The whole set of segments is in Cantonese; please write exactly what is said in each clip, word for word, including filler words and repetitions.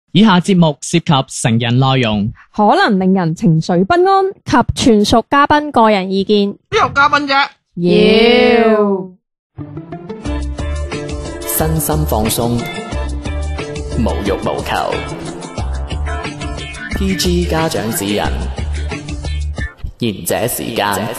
以下節目涉及成人內容， 可能令人情緒不安及全屬嘉賓個人意見。 邊有嘉賓啫？ 妖身心放鬆，無欲無求。P G 家長指引，賢者時間。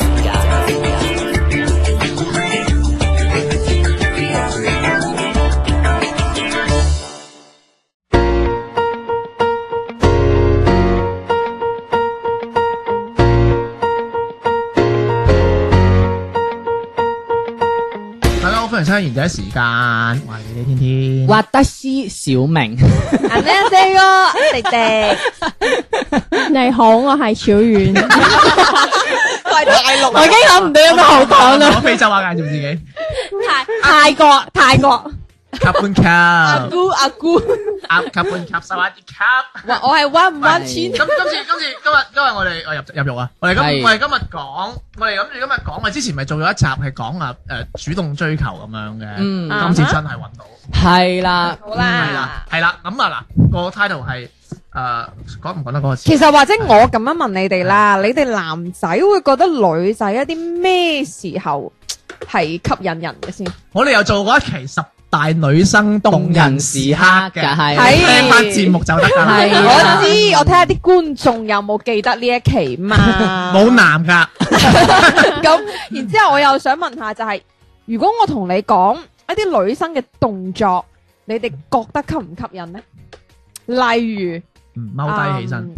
歡迎收聽賢者時間，我係你哋天天， 挖德斯小明， 阿咩四個迪迪， 你好，我係小遠。 大陸， 我已經諗唔到有咩好講啦。 講非洲話介紹自己， 泰泰國泰國， 卡半卡， 阿姑阿姑， 阿卡半卡，沙瓦迪卡。 哇！我係溫唔溫錢？ 咁今次今次今日今日我哋我入入肉啊！我哋今我哋今日講，我哋諗住今日講，我之前咪做咗一集係講啊誒主動追求咁樣嘅， 嗯今次真係揾到， 係啦， 好係啦啦， 係啦，咁啊嗱個 title 係誒講唔講得嗰個詞？ 其實或者我咁樣問你哋啦，你哋男仔會覺得女仔一啲咩時候係吸引人嘅先？ 我哋又做過一期十大女生動人時刻嘅， 係聽翻節目就得㗎啦。 係我知，我睇下啲觀眾有冇記得呢一期嘛？ 冇男㗎， 咁，然之後我又想問下，就係如果我同你講一啲女生嘅動作，你哋覺得吸唔吸引呢？例如， 嗯踎低起身，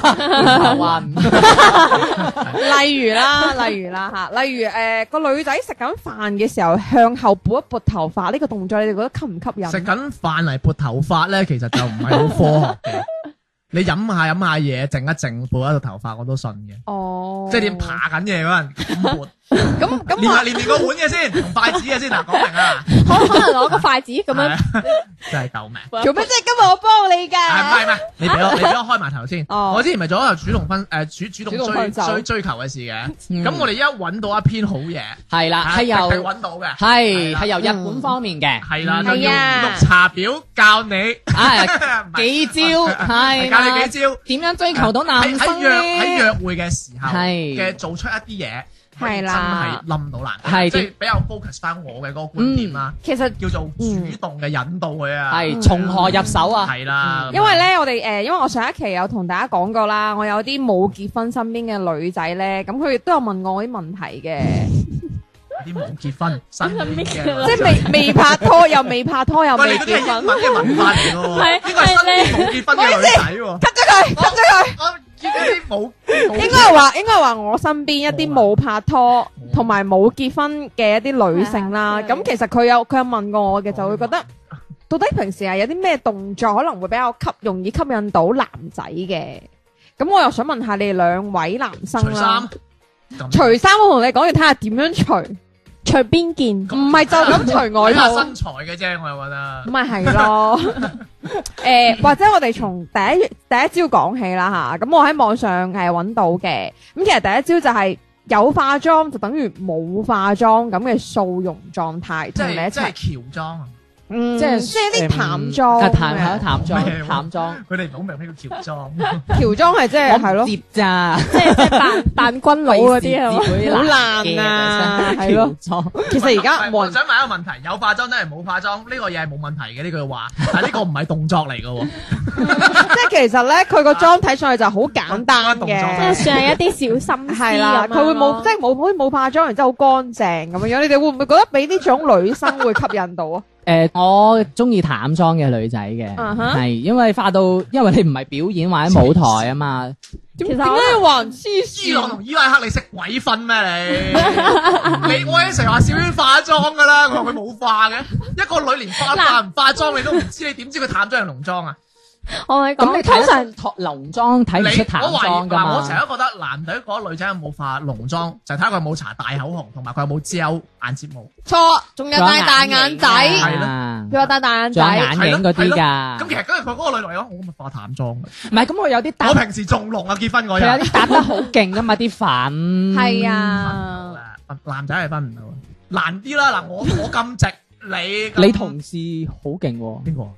例如啦，例如啦吓，例如誒個女仔食緊飯嘅時候向後撥一撥頭髮呢個動作，你哋覺得吸唔吸引？ 食緊飯嚟撥頭髮咧，其實就唔係好科學嘅。你飲下飲下嘢，靜一靜，撥一個頭髮我都信嘅。 哦， 即係點爬緊嘢嗰陣咁撥， 咁咁練下練練個碗嘅先，同筷子嘅先嗱，講明啊， 可可能攞個筷子咁樣， 係啊真係救命！ 做咩？即係今日我幫你㗎？ 啊唔係唔係，你俾我你俾我開埋頭先。 哦我之前咪做咗個主動分誒主主主動追動分手追追求嘅事嘅， 嗯咁我哋一揾到一篇好嘢， 係啦，係由係揾到嘅， 係係由日本方面嘅， 係啦，就要係啊綠茶婊教你啊唔係幾招係教啦你幾招。 點樣追求到男喺喺生約喺咧？ 約會嘅時候係嘅做出一啲嘢， 係啦真係冧到男， 係即係比較 focus 翻我嘅嗰個觀點啦， 其實叫做主動嘅引導佢啊， 係從何入手啊？ 係啦， 因為咧，我哋誒，因為我上一期有同大家講過啦，我有啲冇結婚身邊嘅女仔咧，咁佢亦都有問我啲問題嘅， 啲冇結婚身邊嘅， 即係未未拍拖又未拍拖又喂， 未你嗰啲係結婚， 英文嘅文化嚟嘅喎， 係應該係身邊冇結婚嘅女仔喎， cut 咗佢，cut 咗佢。 我見嗰啲冇冇應該係話，應該係話我身邊一啲冇拍拖同埋冇結婚嘅一啲女性啦。 係係咁其實佢有佢有問過我嘅，就會覺得到底平時係有啲咩動作可能會比較吸容易吸引到男仔嘅。咁我又想問下你哋兩位男生除啦衫，， 除衫我同你講要睇下點樣除， 除邊件？ 唔係就咁除外套。 睇下身材嘅啫，我又覺得咁。咪係咯，誒、或者我哋從第一第一招講起啦吓，咁我喺網上係揾到嘅，咁其實第一招就係有化妝就等於冇化妝咁嘅素容狀態， 即同你一係即係齊， 喬裝啊！ 嗯， 即係即係啲淡啊妝淡係咯，淡咩妝，淡妝， 佢哋唔好明咩叫喬裝， 喬裝係即係係咯， 接咋？ 即係即係扮扮軍佬嗰啲係嘛？ 好爛啊係咯喬裝其實而家冇人我想問一個問題：有化妝真係冇化妝呢個嘢係冇問題嘅呢句話，但係呢個唔係動作嚟嘅喎。 即係其實咧佢個妝睇上去就好簡單動作即係嘅。 算係一啲小心思係啦，佢會冇即係冇好似冇化妝，然之後好乾淨咁樣樣。你哋會唔會覺得俾呢種女生會吸引到啊？ 誒，我中意淡妝嘅女仔嘅， 嗯哼係因為化到，因為你唔係表演或者舞台啊嘛。 其實點解話人黐伊朗線？ 同伊拉克你識鬼分咩你？你我已經成日話小娟化妝㗎啦，我話佢冇化嘅，一個女連化化唔化妝你都唔知，你點知佢淡妝定濃妝啊？ 我係咁你講通常睇濃妝睇唔出淡你我懷妝噶疑嗱，我成日嘛？ 都覺得男仔覺得女仔有冇化濃妝，就睇下佢有冇搽大口紅，同埋佢有冇遮眼睫毛。 錯，仲有戴大眼仔， 係啦， 佢有戴大眼仲有仔。 眼影嗰啲㗎。 咁其實跟住佢嗰個女嚟講，我咪化淡妝嘅。 唔係，咁我有啲搭我，平時仲濃啊，結婚嗰日。 佢有啲搭得好勁噶嘛，啲粉。 係啊， 男仔係分唔到，難啲啦。嗱，我我咁直，你你同事好勁喎。 邊個？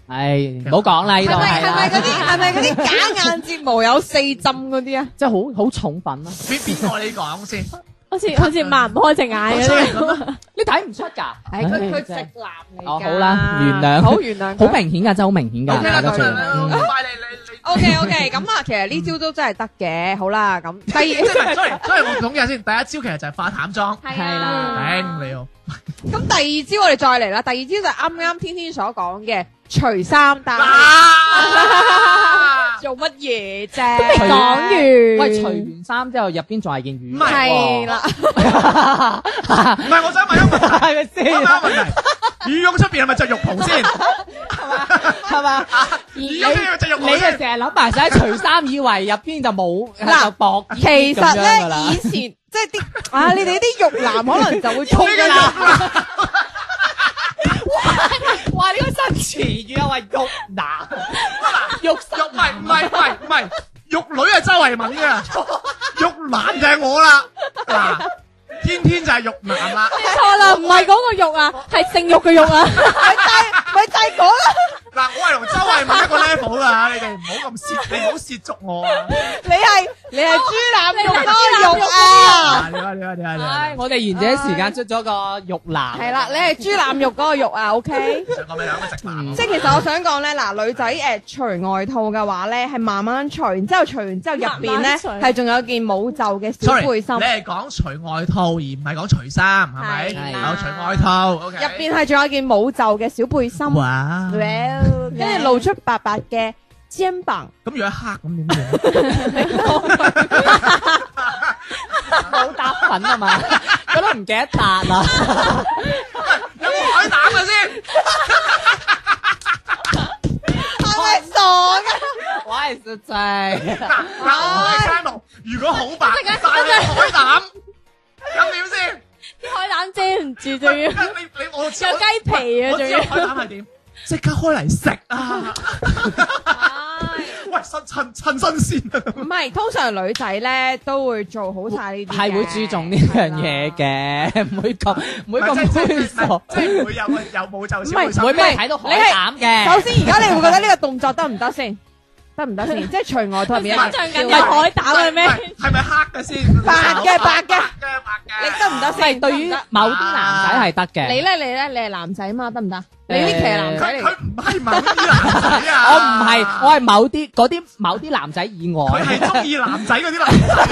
唉，唔好講啦，呢度係咪係係咪嗰啦， 啲係咪嗰啲假眼睫毛有四針嗰啲啊？ 即係好好重粉咯。 邊邊個你講先？ 好似好似擘唔開隻眼嗰啲。 咁啊！ 你睇唔出㗎？ 係佢佢直真係男嚟㗎。 哦好啦原諒好原諒佢。 好明顯㗎，真係好明顯㗎。 OK 啦，咁大家最樣嗯快你你你。 O K O K，咁啊，其實呢招都真係得嘅。好啦，咁第即二係 sorry sorry，我統計下先。第一招其實就係化淡妝， 係係啦頂你喎。 咁第二招我哋再嚟啦。第二招就係啱啱天天所講嘅除衫戴。 啊！ 做乜嘢未啫？ 講完。 喂，除完衫之後入邊仲係件羽唔係係啦， 唔係，我想問一個問題， 係咪先？ 我想問問題，羽絨出邊係咪着浴袍先？ 係嘛？ 羽絨出邊係咪着浴你啊袍先？ 成日諗埋晒除衫，以為入邊就冇嗱就薄衣其實咁樣㗎啦咧以前即係啲啊，你哋啲肉男可能就會衝㗎啦。 哇！呢個新詞語啊，話肉男、肉肉唔係唔係唔係唔係，玉女係周慧敏嘅，玉男就係我啦。嗱，天天就係玉男啦。 錯啦，唔係嗰個肉啊，係性慾嘅肉啊。 咪就係咪就係講啦。 嗱，我係同周慧敏一個 level 噶，你哋唔好咁褻，你唔好褻瀆我啊！ 你係你係豬腩肉嗰個肉啊！ 你話你話你話你話唉，我哋賢者時間出咗個肉男， 係啦，你係豬腩肉嗰個肉啊，OK。 上個咪兩個直男。 即係其實我想講咧，嗱女仔誒除外套嘅話咧，係慢慢除，然之後除完之後入邊咧慢慢除係仲有件冇袖嘅小 Sorry， 背心， 你係講除外套而唔係講除衫，係咪？ 係啦有除外套，OK。 入邊係仲有件冇袖嘅小背心， 哇！ 跟住露出白白嘅肩膀， 咁如果黑咁點算？ 冇搭粉啊嘛，覺得唔記得搭啦。 有冇海膽嘅先？ 係咪傻嘅？ 喂，實際嗱，我係山木，如果好白，但係海膽，咁點先？ 啲海膽遮唔住，仲要有你你我知雞皮啊，仲要。 我知道海膽係點，即刻開嚟食啊！喂，新趁趁新鮮啊！ 唔係，通常女仔咧都會做好晒呢啲嘅， 係會注重呢樣嘢嘅，唔會咁唔會咁猥瑣， 即係唔會有個有冇就少會唔會俾你睇到海膽嘅。 首先，而家你會覺得呢個動作得唔得先？得唔得先？即係除外套入面想象緊有海膽嘅咩？ 係咪黑嘅先？ 白嘅白嘅嘅白嘅。 你得唔得係先？ 對於某啲男仔係得嘅。 你咧，你咧，你係男仔嘛？得唔得？你呢期係男仔嚟嘅， 佢佢唔係某啲男仔啊！ 我唔係，我係某啲嗰啲某啲男仔以外。 佢係中意男仔嗰啲男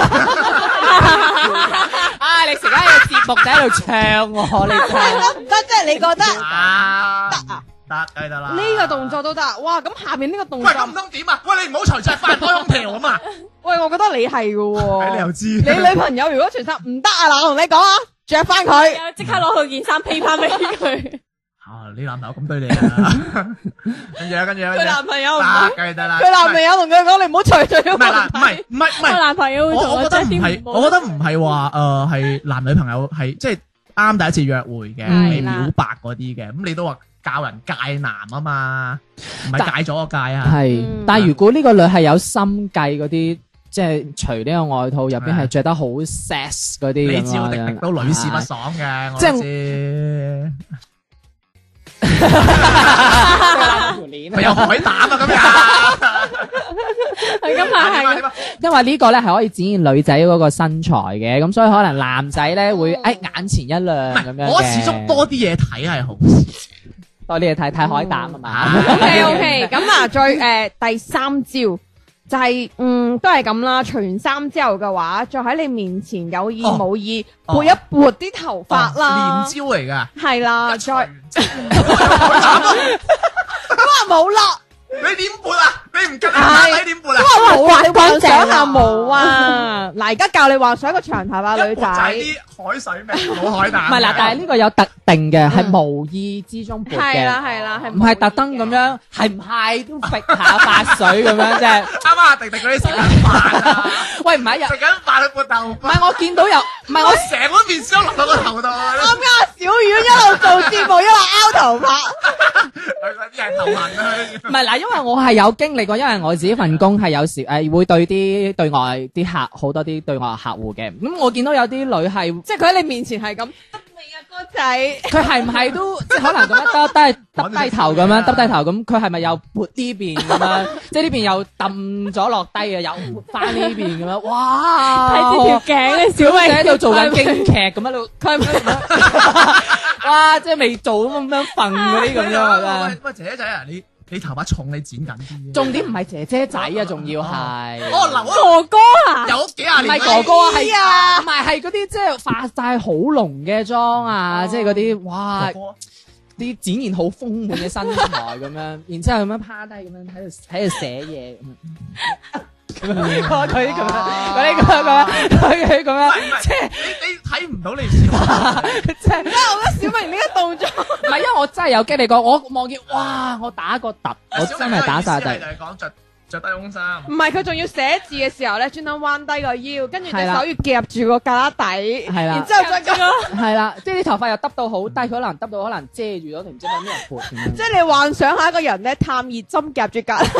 仔。 啊！你成日喺個節目仔喺度唱喎，你真係得唔得？即係你覺得啊！ 得啊？ 得梗係得啦。 呢個動作都得，哇！咁下邊呢個動喂， 作， 咁唔通點啊？喂，你唔好除隻翻開空調啊嘛！ 喂，我覺得你係嘅喎。 你又知？ 你女朋友如果除衫唔得啊，嗱，我同你講啊，着翻佢。 又即刻攞佢件衫披翻俾佢。 啊！你男朋友咁對你啊？跟住啊，跟住啊， 佢男朋友唔得係， 梗係得啦。 佢男朋友同佢講，你唔好除除咗唔係啦，唔係唔係唔係。 我男朋友會同我我覺得唔着啲係，我覺得唔係話誒係男女朋友係即係啱第一次約會嘅， 嗯你表白嗰啲嘅，咁你都話教人戒男啊嘛，唔係戒咗個戒啊。 係嗯， 但係如果呢個女係有心計嗰啲，即係除呢個外套入邊係着得好 sex 嗰啲你咁樣知我迪迪都女士不爽嘅，我即係都知。 條鏈咪有海膽啊咁樣。 佢今日係點啊？ 因為呢個咧係可以展現女仔嗰個身材嘅，咁所以可能男仔咧會誒眼前一亮唔咁樣嘅。 係，我始終多啲嘢睇係好事。 多啲嘢睇睇海膽啊嘛。 OK OK，咁啊，再誒第三招就係嗯都係咁啦，除完衫之後嘅話，再喺你面前有意哦冇意哦撥一撥啲頭髮啦， 連招嚟㗎。 係啦，再咁都話冇啦， 你點撥啊？你唔跟係你點撥啊？ 都話冇啊，你幻想下冇啊，嗱而家教你幻想一個長頭髮女一撥就係仔。 啲海水味，冇海膽。 唔係啦，但係呢個有特定嘅，係無意之中撥係啦嘅， 係啦，係唔係特登咁樣，係唔係都揈下髮水咁樣啫？ 啱啱阿迪迪嗰啲食緊飯啊， 喂，唔係又食緊飯去撥頭髮， 唔係我見到有，唔係我我成碗麵燒落到個頭度啊！ 啱啱小丸一路做節目一路拗頭髮， 佢嗰啲係頭痕啊！ 唔係嗱，因為我係有經歷過，因為我自己份工係有時誒會對啲對外啲客好多啲對外客戶嘅，咁我見到有啲女係即係佢喺你面前係咁得未啊？個仔， 佢係唔係都即係可能咁樣耷低耷低頭咁樣耷低頭咁，佢係咪又撥呢邊咁樣？即係呢邊又揼咗落低嘅，又撥翻呢邊咁樣？哇！ 睇住條頸咧，小小明姐喺度做緊京劇咁喺度，佢係咪哇！即係未做咁樣瞓嗰啲咁樣啊！ 喂喂，姐姐仔啊，你你頭髮重，你剪緊啲。 重點唔係姐姐仔啊，仲要係哦，留哥哥啊， 有幾廿唔年。 係哥哥啊，係啊，唔係係嗰啲即係化晒好濃嘅妝啊，即係嗰啲哇，啲展現好豐滿嘅身材咁樣，然之後咁樣趴低咁樣喺度喺度寫嘢咁樣。佢佢咁樣，佢啲咁樣，佢佢咁樣，即係你你睇唔到你笑， 即係。 我覺得小明呢個動作， 唔係，因為我真係有經歷過，我望見哇，我打個突，我真係打晒突。 就係講着着低胸衫。 唔係佢仲要寫字嘅時候咧，專登彎低個腰，跟住隻係啦手要夾住個架底， 係啦然之後再咁， 係啦，即係啲頭髮又耷到好低，佢可能耷到可能遮住咗，定唔知揾咩人撥咁樣。 即係你幻想下一個人咧探熱針夾住架。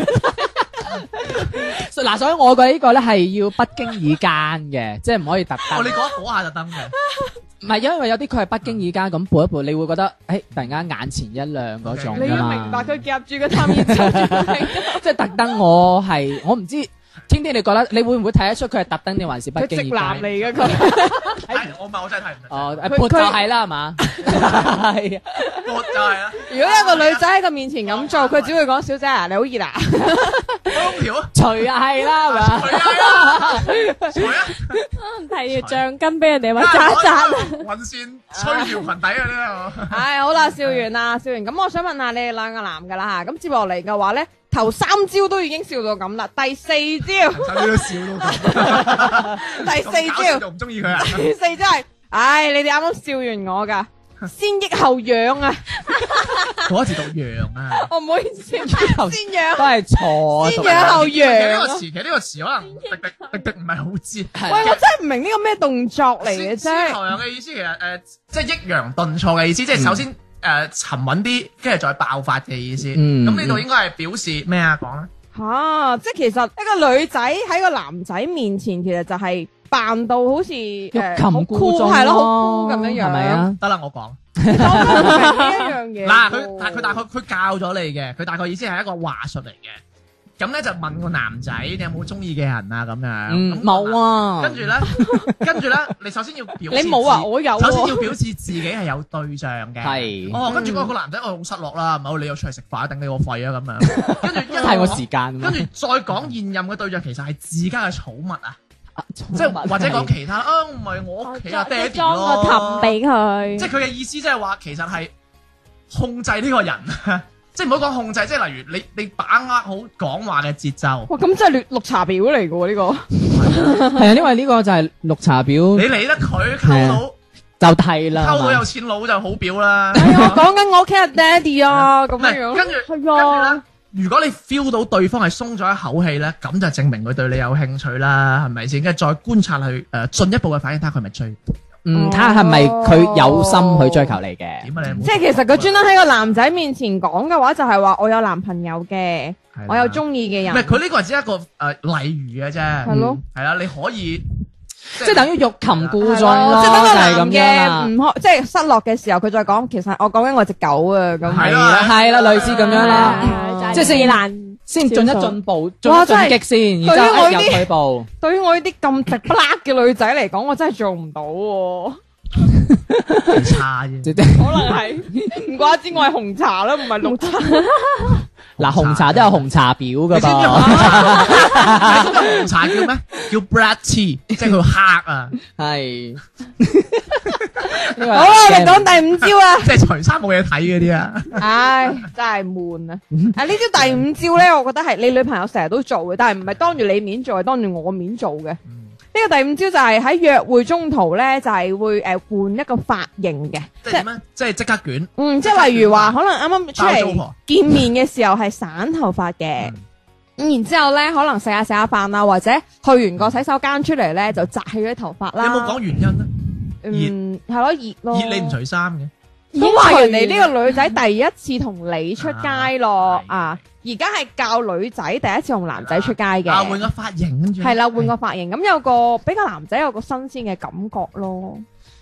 嗱，所以我覺得呢個咧係要不經意間嘅，即係唔可以特登。 哦，你講嗰下特登嘅。 唔係，因為有啲佢係不經意間咁撥一撥，你會覺得誒、欸、突然間眼前一亮嗰種你要㗎嘛明白佢夾住個探熱針， 即係特登。我係我唔知，天天你覺得你會唔會睇得出佢係特登定還是不佢直經意間？ 男嚟嘅佢。 係我唔係我真係睇唔到。 哦， 佢撥就係啦，係嘛？係啊， 我就係啦。 如果一個女仔喺佢面前咁做，佢只會講：小姐啊，你好熱啊！ 空調啊！ 除啊係啦，係嘛？ 除啊！除啊！ 提條橡筋俾人哋揾扎扎。 雲線吹條裙底啊！呢個。 唉，好啦，笑完啦，笑完。咁我想問下你哋兩個男噶啦吓，咁接落嚟嘅話咧，頭三招都已經笑到咁啦，第四招， 你都笑到咁。 第四招， 就唔中意佢啊！ 第四招係，唉，你哋啱啱笑完我噶，先抑後揚啊！ 嗰字讀揚啊！ 我唔好意思，先揚都係錯。 先揚後其實呢揚個。詞，其實呢個詞可能迪迪迪迪唔係好知。 喂，我真係唔明呢個咩動作嚟嘅先啫。 後揚嘅意思其實誒，即係抑揚頓挫嘅意思，即係首先誒沉穩啲，跟住再爆發嘅意思。 嗯咁呢度應該係表示咩啊？講咧。 吓，即係其實一個女仔喺個男仔面前，其實就係扮到好似欲誒擒故縱係咯，好酷咁樣樣， 係咪啊？ 得啦，我講。 我都唔明呢一樣嘢。 嗱，佢但係佢大概佢教咗你嘅，佢大概意思係一個話術嚟嘅。咁咧就問個男仔，你有冇中意嘅人啊？咁樣。 嗯，冇啊。 跟住咧，跟住咧，你首先要表示你冇啊， 自我有首先要喎。 表示自己係有對象嘅。 係哦，跟住嗰個男仔，我好失落啦，唔好你又出嚟食飯，頂你個肺啊咁樣。跟住一係我時間。 跟住再講現任嘅對象，其實係自家嘅寵物啊， 即即係或者講其他啊，唔係我屋企啊，爹哋裝個氹咯。 俾佢， 即係佢嘅意思，即係話其實係控制呢個人，即係唔好講控制，即係例如你你把握好講話嘅節奏。 哇，咁真係綠綠茶婊嚟嘅喎呢個。 係啊，因為呢個就係綠茶婊你理得佢溝到就係啦。 溝到有錢佬就好表啦。 哎呀，我講緊我屋企阿爹哋啊，咁唔係樣樣。 跟住係跟住啊咧，如果你 feel 到對方係鬆咗一口氣咧，咁就證明佢對你有興趣啦，係咪先？跟住再觀察佢誒進一步嘅反應，睇下佢係咪追。 嗯，睇下係咪佢有心去追求你嘅。 點啊你冇？ 即係其實佢專登喺個男仔面前講嘅話，就係話我有男朋友嘅， 係啦我有中意嘅人。 唔係佢呢個係只係一個誒例如嘅啫。 係咯， 係啦，你可以即係等於欲擒故縱係咯咯， 即係等個男就係咁樣啦嘅唔開，即係失落嘅時候，佢再講，其實我講緊我隻狗啊，咁係係啦，係啦，類似咁樣啦， 係即係先難先進一進步，進一進哇真係擊先，然之後一入對於我呢啲退步。 對於我呢啲咁直不甩嘅女仔嚟講，我真係做唔到喎。 差啫。 即係可能係唔怪之我係紅茶啦，唔係綠茶。 嗱，紅茶都有紅茶婊噶你知唔知噃， 紅茶？你知唔知紅茶叫咩？叫 black tea，即係佢黑啊， 係。 好啦，我哋講第五招啊！ 即係除衫冇嘢睇嗰啲啊。 唉，真係悶啊！啊，呢招第五招咧，我覺得係你女朋友成日都做嘅，但係唔係當住你面做，係當住我面做嘅。呢個第五招就係喺約會中途咧，就係會誒換一個髮型嘅， 即係點咧？即係即刻捲。 嗯，即係例如話，可能啱啱出嚟包租婆見面嘅時候係散頭髮嘅，咁然之後咧，可能食下食下飯啊，或者去完個洗手間出嚟咧，就紮起咗啲頭髮啦。 你有冇講原因咧？ 嗯，係咯，熱咯。 熱你唔除衫嘅。 都話人哋呢個女仔第一次同你出街咯啊啊！而家係教女仔第一次同男仔出街嘅， 啊，換個髮型跟住。 係啦，換個髮型，咁有個比較男仔有個新鮮嘅感覺咯。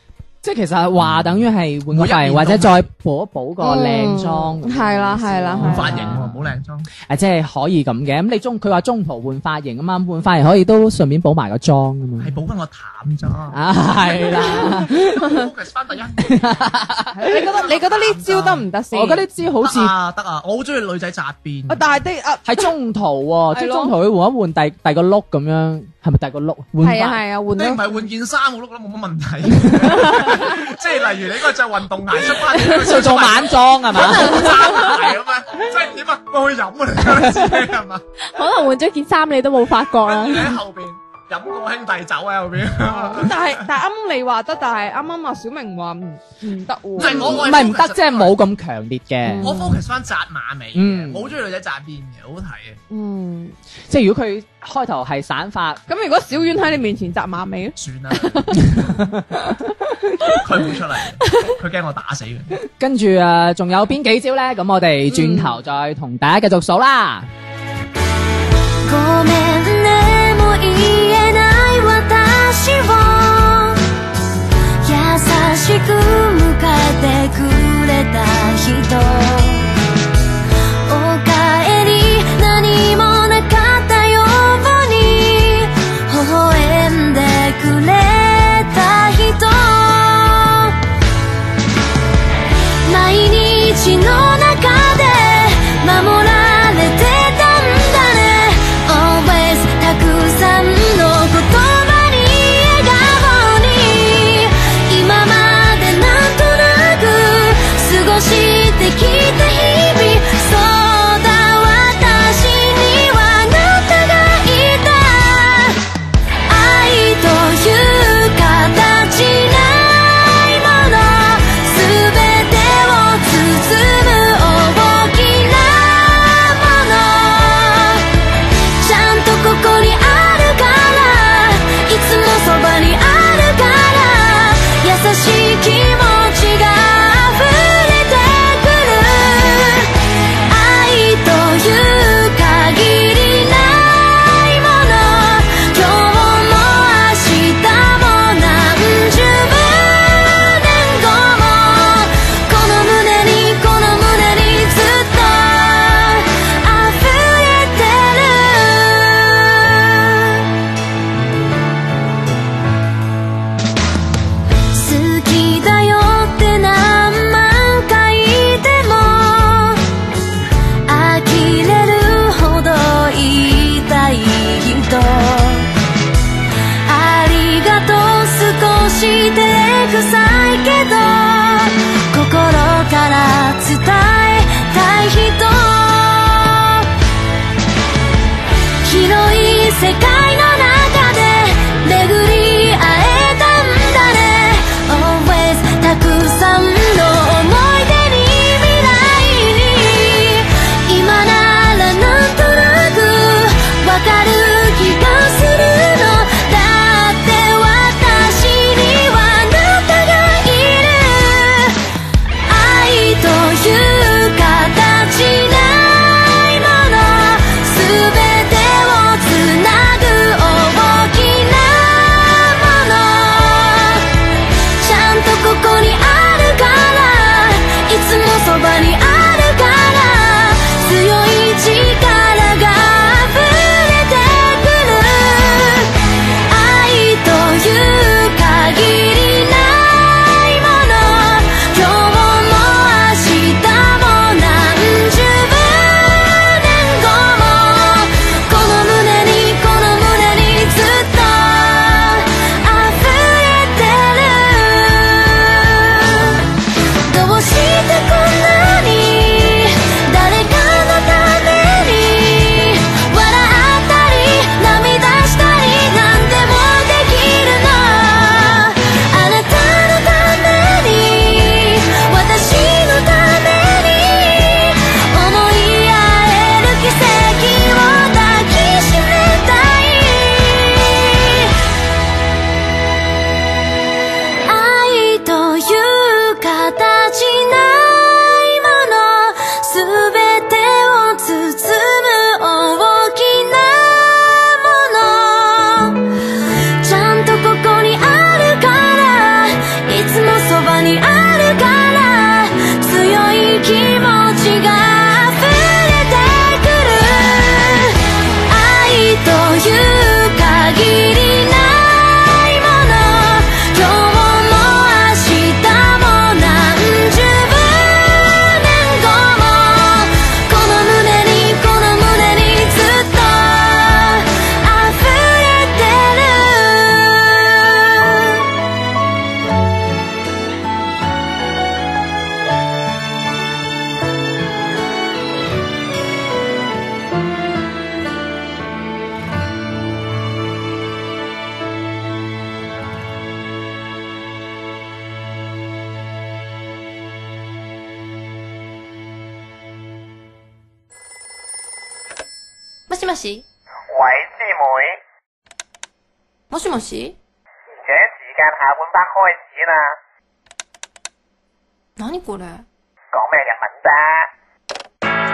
即係其實話等於係換個髮型， 每一年都或者再補一補個靚妝。 係啦係啦換係髮型喎，唔好靚妝。 誒，即係可以咁嘅。咁你中佢話中途換髮型啊嘛，換髮型可以都順便補埋個妝啊嘛。 係補翻個淡妝。 啊，係啦。 focus 翻第一。 你覺得你覺得呢招得唔得先？ 我覺得呢招好似得啊得啊，我好中意女仔紮辮。 啊，但係啲啊喺中途喎，即係係咯中途佢換一換第第個碌咁樣，係咪第個碌換係啊返？ 係啊，換你唔到係換件衫，我都覺得冇乜問題。即係例如你嗰個着運動鞋出翻， 做做晚裝係嘛？ 爭鞋咁樣，即係點啊？我去飲啊！你覺得自己係嘛？ 可能換咗件衫你都冇發覺啦跟住。你喺後邊飲個兄弟酒喺後邊。 咁但係但係啱啱你話得，但係啱啱阿小明話唔唔得喎。 唔係我唔係唔得，即係冇咁強烈嘅。 我 focus 翻紮馬尾嗯嘅，我好中意女仔紮辮嘅，好好睇嘅。 嗯， 即係如果佢開頭係散髮， 咁如果小丸喺你面前紮馬尾咧？ 算啦，佢唔會出嚟，佢驚我打死佢。 跟住誒仲有邊幾招咧？咁我哋轉頭再同大家繼續數啦。 ごめんねもう言えない私を優しく迎えてくれた人おかえり何もなかったように微笑んでくれた人毎日の中で守られてたんだね Always たくさんの言葉に笑顔に今までなんとなく過ごしてきた日々そうだ私にはあなたがいた愛という形ないもの全てを包む大きなものちゃんとここにあるからいつもそばにあるから優しい気持ちが溢れてくる愛という限りないもの今日も明日も何十年後もこの胸にこの胸にずっと溢れてる好きだよって何万回でも呆れるほど言いたい人ありがとう少し照れくさいけど心から伝えたい人広い世界の中で巡り会えたんだね Always たくさんの思い出に未来に今ならなんとなくわかる気がするのだって私にはあなたがいる愛という形ないもの全てをつなぐしもし喂，師妹， もしもし賢者時間下半 part 開始啦， 何これ講咩日文啫？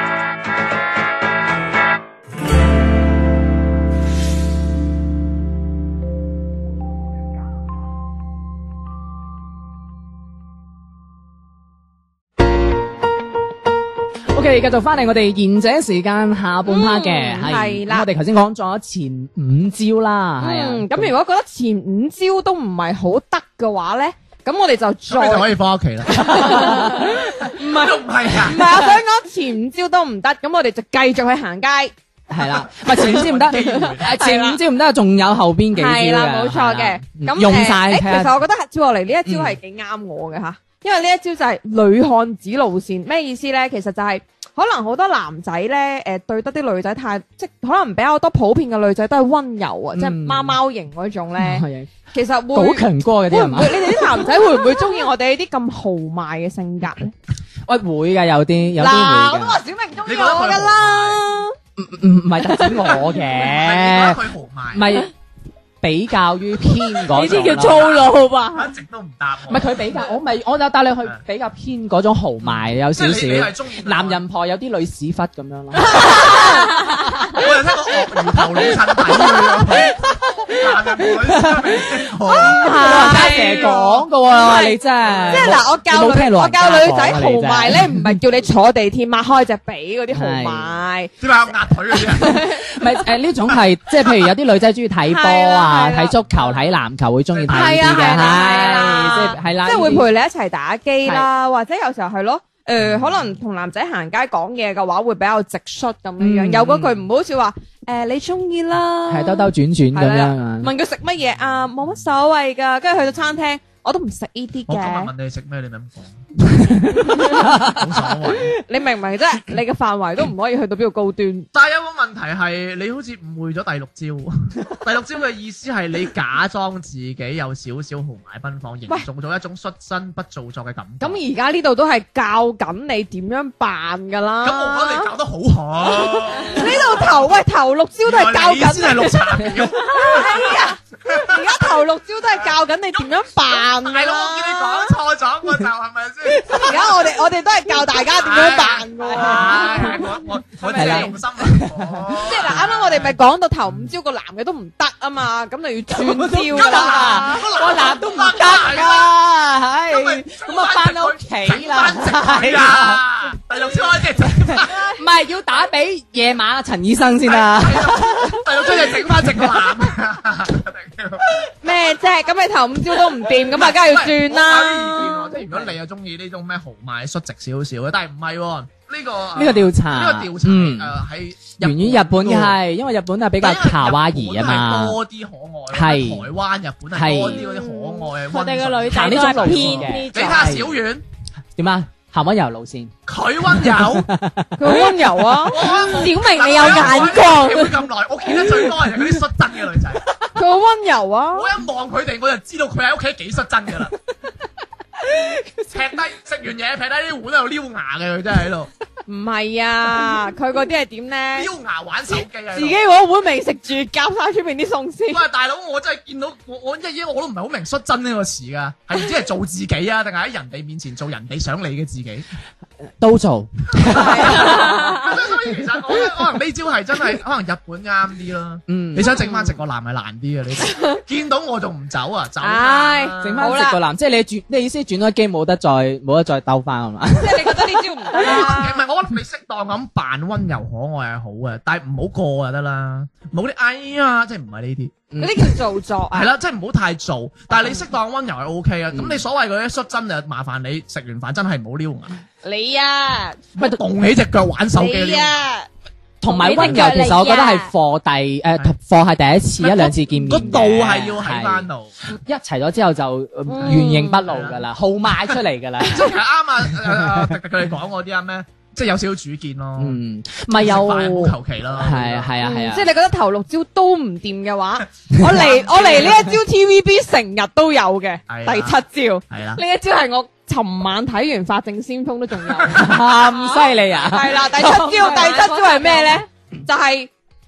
OK，繼續翻嚟我哋賢者時間下半 part 嘅， 嗯係啦咁我哋頭先講咗前五招啦，係啊， 嗯，咁如果覺得前五招都唔係好得嘅話咧，咁我哋就再咁你就可以翻屋企啦。 唔係都唔係啊唔。係，我想講前五招都唔得，咁我哋就繼續去行街。 係啦，唔係前五招唔得，誒前五招唔得，仲有後邊幾招嘅， 係啦，冇錯嘅。 係啦咁用晒誒誒睇下其實我覺得接落嚟呢一招係幾啱我嘅吓，因為呢一招就係女漢子路線。咩意思咧？其實就係可能好多男仔咧，誒對得啲女仔太，即係可能比較多普遍嘅女仔都係溫柔啊，即係貓貓型嗰種咧。 係其實會好強哥嗰啲係嘛會唔會？？你哋啲男仔會唔會中意我哋呢啲咁豪邁嘅性格咧？ 喂，會㗎，有啲有啲嗱，我會㗎， 都話小明中意你覺得佢我噶啦。 唔唔係特指我係你覺嘅得，佢豪邁， 唔係比較於偏嗰呢種啲叫粗咯。 魯吧？ 一直都唔答我。 唔係佢比較，我咪我就帶你去比較偏嗰種豪邁，有少即係你你係少中意男人婆有啲女屎忽咁樣咯。 我又聽過鱷魚頭老襯底嘅，男人女老人家成日講噶喎，你真係即係嗱，我教你冇聽女我老人家教女仔豪講啊你真係邁咧，唔係叫你坐地鐵擘開隻髀嗰啲豪邁。 點解有壓腿嗰啲啊？ 唔係誒呢種係即係譬如有啲女仔中意睇波係啦啊、 係啦睇足球、睇籃球會中意睇呢啲嘅， 係啊係啦係即係係啦， 即係會呢啲陪你一齊打機啦，或者有時候係咯，誒可能同男仔行街講嘢嘅話，會比較直率咁樣樣， 嗯有嗰句唔好似話誒你中意啦， 係兜兜轉轉咁係啦樣啊。 問佢食乜嘢啊，冇乜所謂㗎，跟住去到餐廳我都唔食呢啲我今日嘅， 問你食咩，你咪咁講，冇所謂。 你明唔明啫？你嘅範圍都唔可以去到邊度高端。 但係有個問題係，你好似誤會咗第六招。第六招嘅意思係你假裝自己有少少豪邁奔放，營造咗一種率真不做作嘅感覺。 咁而家呢度都係教緊你點樣扮㗎啦。 咁我覺得你搞得好好。 呢度頭喂頭六招都係教緊原來你先係綠茶婊。 係啊！而家頭六招都係教緊你點樣扮㗎大佬，我見你啦。 講錯咗個就係咪先？ 而家我哋我哋都係教大家點樣扮㗎喎。 唉我我我真係用心啦。 即係嗱，啱啱我哋咪講到頭五招個男嘅都唔得啊嘛，咁就要轉招啦。 個男都唔得噶，唉，咁啊翻屋企啦， 係啊，第六招開始整翻， 唔係要打俾夜晚阿陳醫生先啦。 第六招就整翻直個男。 咩啫？咁你頭五招都唔掂，咁啊，梗係要轉我有啲意見啦喎。即係如果你又中意呢種咩豪邁率直少少嘅，但係唔係喎呢個呢個調查， 呢個調查嗯誒喺源於日本嘅係，因為日本係比較卡哇伊啊嘛， 多啲可愛， 係台灣、日本係多啲嗰啲可愛。 我哋嘅女仔行呢都種路線係偏嘅呢種你睇。下小丸， 點啊？行溫柔路線， 佢温柔， 佢好温柔啊， 小明你有眼光， 會咁耐，我見得最多係嗰啲率真嘅女仔。 佢好温柔啊。 我一望佢哋，我就知道佢喺屋企幾率真㗎啦。劈低食完嘢，劈低啲碗喺度撩牙嘅，佢真係喺度唔係啊，佢嗰啲係點咧？ 撩牙玩手機啊！ 自己嗰碗未食住，夾晒出邊啲餸先。 喂，大佬，我真係見到我我一嘢我都唔係好明率真呢個詞㗎，係唔知係做自己啊，定係喺人哋面前做人哋想你嘅自己？ 都做， 所以其實我覺得可能呢招係真係可能日本啱啲咯。 嗯你想整翻直個男係難啲嘅，你見到我仲唔走啊？走唉啦！ 整翻直個男，即係你轉，你意思轉咗機冇得再冇得再兜翻係嘛？ 即係你覺得呢招唔得啦唔。係，我覺得你適當咁扮温柔可愛係好嘅，但係唔好過就得啦。冇啲哎呀，即係唔係呢啲。 嗰啲叫做作啊。 係啦，即係唔好太做，但係你適當温柔係 O K 啊。咁你所謂嗰啲率真就麻煩你食完飯真係唔好撩牙， 你啊， 咪動起隻腳玩手機你撩。 啊， 同埋温柔，其實我覺得係課第誒課係第一次一兩次見面嘅， 個度係要喺翻度。 一齊咗之後就呃原形不露㗎啦，號賣出嚟㗎啦。 即係其實啱啊！誒誒，迪迪佢哋講嗰啲啊咩，即係有少少主見咯。 嗯，咪有食飯唔好求其啦。 係啊係啊係啊即係，你覺得頭六招都唔掂嘅話，我嚟我嚟呢一招 T V B 成日都有嘅。 係啊第七招， 係啦呢。一招係我尋晚睇完《法證先鋒》都仲有。 咁犀利啊！ 係啦，第七招，第七招係咩咧？就係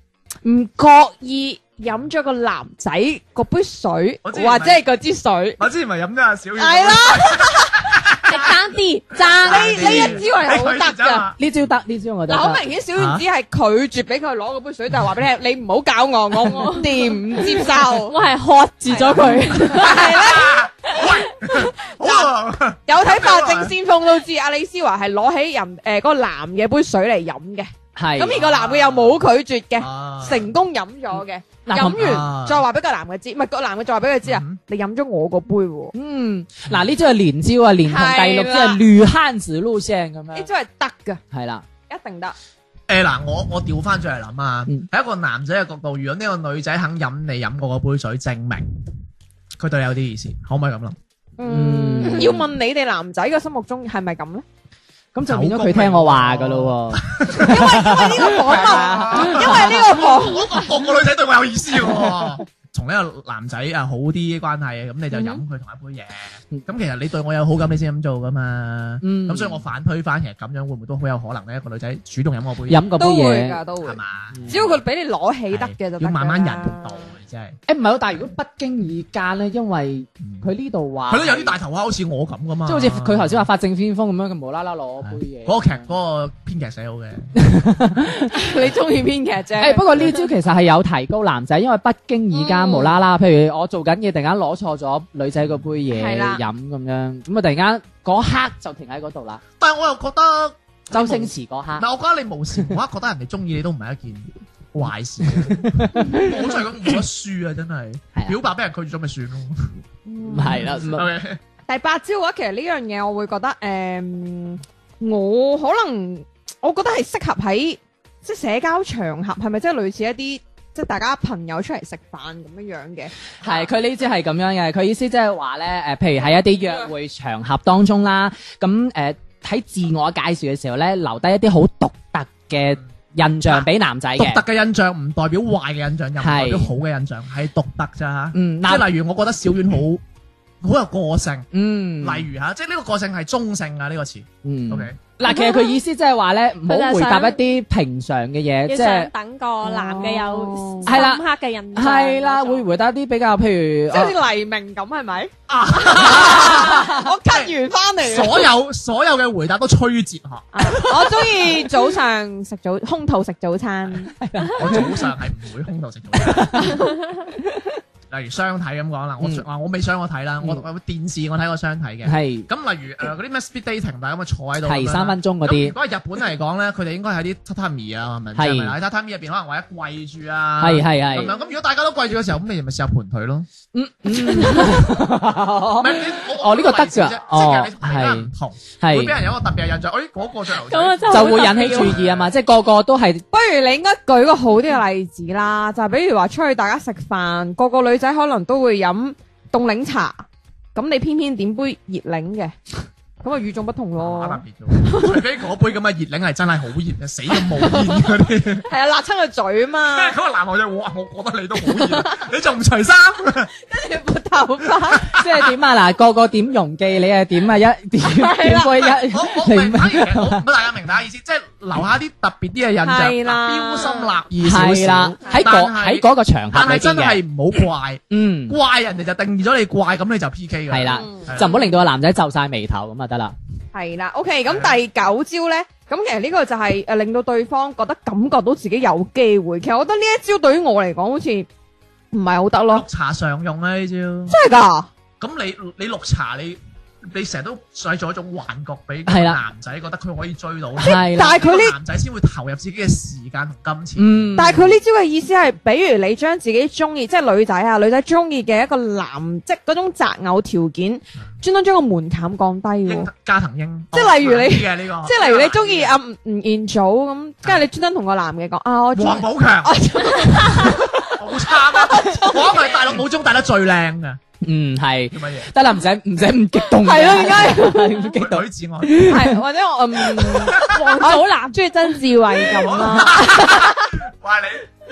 唔覺意飲咗個男仔嗰杯水， 我之前或者係嗰支水， 我之前咪飲咗阿小丸。 係啦， 係爭啲爭呢呢一招係好得㗎。 呢招得，呢招我覺嗱，好得。 明顯小丸子係拒絕俾佢攞嗰杯水，就係話俾你聽，你唔好搞我，我我掂唔接受。 我係喝住咗佢。 係啦， 好啊， 有睇《法證先鋒》都知，阿李思華係攞起人誒嗰個男嘅杯水嚟飲嘅， 係。 咁而個男嘅又冇拒絕嘅， 啊成功飲咗嘅。 嗱飲啊完再話俾個男嘅知，唔係個男嘅再話俾佢知啊嗯， 你飲咗我個杯喎， 嗯，嗱呢招係連招啊，連同第六招係女漢子路線咁樣。 呢招係得㗎， 係啦， 一定得。 誒嗱，我我調翻轉嚟諗啊， 嗯喺一個男仔嘅角度，如果呢個女仔肯飲你飲過嗰杯水，證明佢對你有啲意思，可唔可以咁諗？ 嗯，要問你哋男仔嘅心目中係咪咁咧？ 咁就變咗佢聽我話噶咯喎。 因為因為呢個訪問，因為呢個訪我覺得個個女仔對我有意思喎。同呢個男仔啊好啲關係，咁你就飲佢同一杯嘢。咁其實你對我有好感，你先咁做噶嘛。 嗯咁所以我反推翻，其實咁樣會唔會都好有可能咧？一個女仔主動飲我杯嘢， 飲嗰杯都會嘢。 㗎，都會係。嘛？ 只要佢俾你攞起得嘅就得㗎啦要慢慢引導，真係。 誒唔係喎，但係如果不經意間咧，因為佢呢度話佢都有啲大頭蝦，好似我咁噶嘛。 即係好似佢頭先話法證先鋒咁樣，佢無啦啦攞杯嘢。 嗰個劇嗰個編劇寫好嘅。 你中意編劇啫。 誒不過呢招其實係有提高男仔，因為不經意間無啦啦，譬如我做緊嘢，突然間攞錯咗女仔嗰杯嘢係啦飲咁樣，咁啊突然間嗰刻就停喺嗰度啦。 但係我又覺得周星馳嗰刻， 嗱，我覺得你無時無刻覺得人哋中意你都唔係一件壞事。我真係講冇得輸啊！真係係啊表白俾人拒絕咗咪算咯。 唔係啦，唔係 OK， 第八招嘅話，其實呢樣嘢我會覺得，誒、我可能我覺得係適合喺即係社交場合，係咪即係類似一啲即係大家朋友出嚟食飯咁樣樣嘅？ 係佢呢招係咁樣嘅，佢意思即係話咧誒，譬如喺一啲約會場合當中啦，咁誒喺自我介紹嘅時候咧，留低一啲好獨特嘅印象俾男仔嘅。 獨特嘅印象唔代表壞嘅印象，又唔代表係好嘅印象，係獨特咋嚇。 嗯， 即係例如，我覺得小丸好好有個性。 嗯， 例如嚇，即係呢個個性係中性啊！呢個詞嗯 ，OK。 嗱，其實佢意思即係話咧，唔好回答一啲平常嘅嘢， 要想即係等個男嘅有哦係啦深刻嘅印象。 係啦，會回答啲比較譬如即係好似黎明咁係咪？ 啊我 cut 完翻嚟， 所有所有嘅回答都吹哲學。 我中意早上食早空肚食早餐。 我早上係唔會空肚食早餐。例如相睇咁講啦，我嗯話我未相過睇啦，我我電視我睇過相睇嘅。 係咁例如誒嗰啲咩 speed dating，大家咁啊坐喺度咁樣啦係三分鐘嗰咁啲如，果係日本嚟講咧，佢哋應該喺啲榻榻米啊，係咪？ 係係咪喺榻榻米入邊可能或者跪住啊， 係係係咁樣。咁如果大家都跪住嘅時候，咁你咪試下盤腿咯。 嗯嗯， 唔係你我哦呢個得㗎即係其實哦你同大家唔同， 係會俾人有一個特別嘅印象。誒嗰個着牛仔咁啊，真係就好會引起注意啊嘛，即係個個都係不如你應該舉個好啲嘅例子啦，就係比如話出去大家食飯，個個女仔可能都會飲凍檸茶，咁你偏偏點杯熱檸嘅，咁啊與眾不同特咯。 別咗，除非嗰杯咁嘅熱檸係真係好熱嘅，死咁冇煙嗰啲。 係啊，辣親個嘴啊嘛， 嗰個男學仔，哇！我覺得你都好熱，你仲唔除衫？ 跟住撥頭髮， 即係點啊嗱，個個點容記，你係點啊一點點杯一我我明，反而其實我唔大家明大家意思，即係留下啲特別啲嘅印象， 係啦標心立異少係啦少。， 喺嗰喺嗰個場合裏但係真邊嘅， 係唔好怪， 嗯怪人哋就定義咗你怪，咁你就 P K 㗎。 係啦， 係就唔好令到個男仔皺晒眉頭咁就得啦。 係啦。OK，咁第九招咧，咁其實呢個就係誒令到對方覺得感覺到自己有機會。其實我覺得呢一招對於我嚟講好似唔係好得咯綠，茶常用啊呢招。 真係㗎。 咁你你綠茶你你成日都製造一種幻覺俾係啦男仔覺得佢可以追到你， 係啦， 但係佢呢呢個男仔先會投入自己嘅時間同金錢。 嗯， 但係佢呢招嘅意思係，比如你將自己中意，即係女仔啊，女仔中意嘅一個男，即係嗰種擇偶條件，專登將個門檻降低喎英。加藤英， 即係例如你嘅呢個， 即係例如你中意阿吳吳彥祖咁，跟住你專登同個男嘅講啊，我中黃寶強，好差啊！我係大陸武中帶得最靚嘅， 嗯係叫乜嘢？ 得啦，唔使唔使咁激動嘅， 係咯點解唔激動？ 女子愛。 係或者我嗯王祖藍中意曾志偉咁啦。 喂你，喂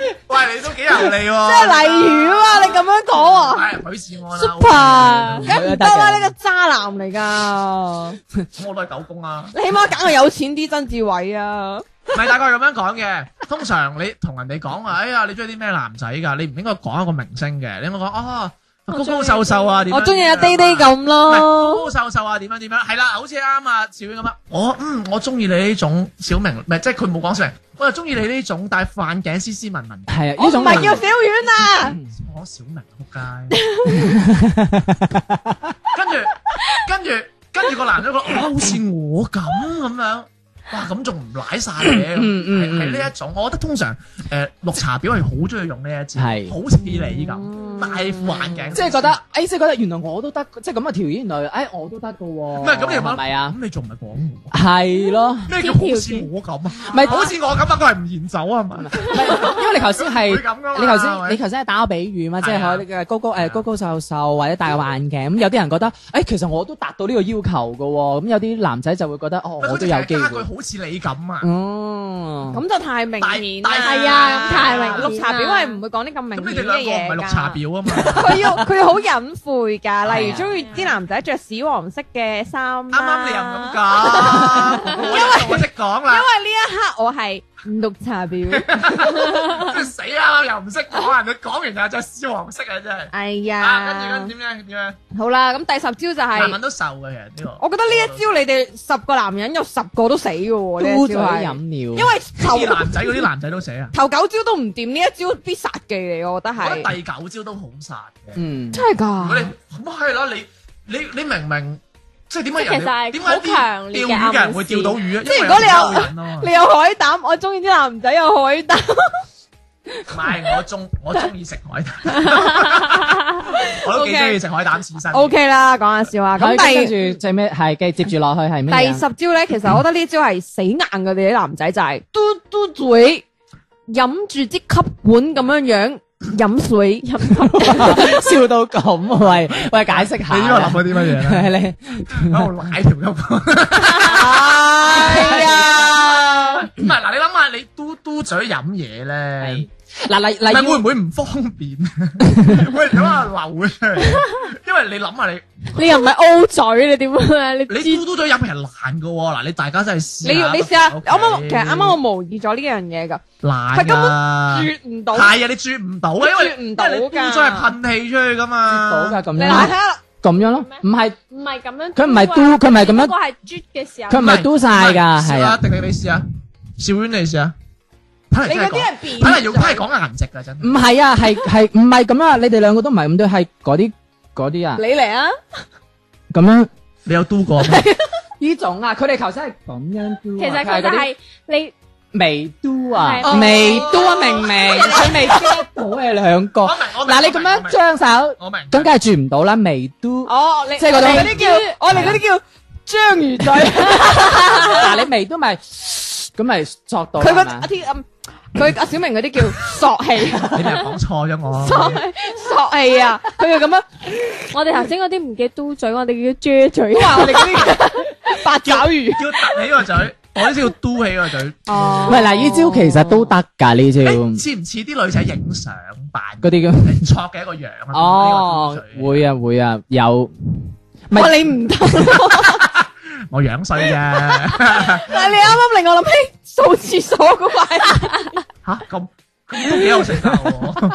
喂，你都幾油膩喎。 即係例如啊嘛，你咁樣講喎。 係許志安啦 Super 梗唔得啦，呢個渣男嚟㗎。 咁我都係狗公啊。 你起碼揀個有錢啲曾志偉啊。 唔係大概咁樣講嘅。通常你同人哋講話，哎呀，你中意啲咩男仔㗎？你唔應該講一個明星嘅，你應該講啊。高高瘦瘦啊，點樣？ 我中意阿爹爹咁唔係咯。 高高瘦瘦啊，點樣點樣？係啦，好似啱啊，小婉咁啊。我嗯，我中意你呢種小明，唔係即係佢冇講小明，我就中意你呢種戴副眼鏡斯斯文文。 係啊， 我唔呢種係叫小丸啊。 我講小明仆街。跟住跟住跟住個男仔覺得，哇，好似我咁咁樣。哇，咁仲唔舐晒嘅？ 嗯嗯係係呢一種，我覺得通常誒綠茶婊係好中意用呢一招， 係好似你咁戴副眼鏡， 即係覺得，誒，即係覺得原來我都得，即係咁嘅條件，原來誒我都得嘅喎。唔唔係咁你係咪啊？ 咁你仲唔係講我？ 係咯， 咩叫好似我咁啊？ 唔係好似我咁啊，佢係唔賢走啊嘛？ 唔係，因為你頭先係會咁㗎嘛你頭係咪先你頭先係打個比喻嘛，即係係啊可能高高誒高高瘦瘦或者戴個眼鏡，咁有啲人覺得，誒其實我都達到呢個要求嘅喎，咁有啲男仔就會覺得，哦我都有機會加句。好似你咁啊！ 哦， 咁就太明顯啦。 大大係啊，咁太明顯啦綠茶婊係唔會講啲咁明咁你顯嘅哋兩個唔係嘢綠茶㗎。 婊啊嘛？ 佢要佢要好隱晦㗎， 啊例如中意啲男仔着屎黃色嘅衫啦。 啱啱你又唔咁講，因為我識講因啦， 為呢一刻我係綠茶婊。 死啦，又唔識講，人哋講完就着屎黃色啊，真係。 哎啊，跟住呀跟，住點樣點樣？ 好啦，咁第十招就男人係， 都瘦嘅，其實呢個。 我覺得呢一招你哋十個男人有十個都死嘅喎，呢嘟嘴一招係， 飲料， 因為頭啲男仔嗰啲男仔都死啊！ 頭九招都唔掂，呢一招必殺技嚟，我覺得係。 我覺得第九招都好殺嘅。 嗯， 真係如果你㗎？ 咁係啦，你你你明明即係點解人即係其實係哋點解啲好強烈釣嘅魚嘅人會釣到魚啊？ 即係如果你有因為有人啊嘛你有海膽，我中意啲男仔有海膽。 唔係我中我中意食海膽，我都幾中意食海膽刺身。 O K 啦，講下笑話。咁咁跟第住最尾係繼接住落去係咩啊？ 第十招咧，其實我覺得呢招係死硬嘅，你啲男仔就係嘟嘟嘴，飲住支吸管咁樣樣飲水，飲笑到咁，喂喂，解釋下。 你呢個諗咗啲乜嘢咧？ 係你喺度舐條吸管。 係啊， 唔係嗱，你諗下，你嘟嘟嘴飲嘢咧， 嗱例唔係例會唔會唔方便？喂，諗下流咗出嚟，因為你諗下你你又唔係 O 嘴，你點啊？你你嘟嘟嘴飲係難噶喎，嗱你大家真係試你要你試下， OK 啱啱其實啱啱我模擬咗呢樣嘢㗎， 難佢根本㗎。 啜唔到， 係啊，你啜唔到啊，因為啜唔到㗎因為你嘟咗係噴氣出去噶嘛。 到㗎咁你樣咯， 睇下。 咁樣咯，唔係唔係咁樣， 佢唔係嘟佢唔係咁樣嗰個係啜嘅時候， 佢唔係嘟晒㗎， 試下， 係啊， 定定你試下，小婉你試下。睇嚟你嗰啲真係講係扁睇嚟用睇嚟講顏值㗎真係。 唔係啊，係係唔係咁啊？你哋兩個都唔係咁多，係嗰啲嗰啲啊， 你嚟啊！ 咁樣你有嘟過咩？ 呢種啊，佢哋頭先係咁樣嘟啊， 其實佢係嗰啲佢就係你微嘟啊， 係微嘟啊，明明佢未 get 到你兩個。 我明我明。 嗱，你咁樣張手， 我明。 咁梗係轉唔到啦，微嘟。 哦，你即係嗰種我哋嗰啲叫我哋嗰啲叫章魚嘴。 嗱，你微嘟咪咁咪作到佢嗰係嘛阿天嗯，佢阿小明嗰啲叫索氣， 你咪講錯咗我。 索索氣啊！佢就咁樣我哋頭先嗰啲唔叫嘟嘴，我哋叫撅嘴。 話我哋嗰啲八爪魚。 叫凸起個嘴，我呢先叫嘟起個嘴。 哦唔係嗱，呢招其實都得㗎，呢招誒似唔似啲女仔影相扮嗰啲咁。 嚟錯嘅一個樣啊？ 哦，會啊會啊，有。咪哇！你唔得， 我樣衰啫。 但係你啱啱令我諗起掃廁所嗰塊。 吓咁咁都幾有性格喎。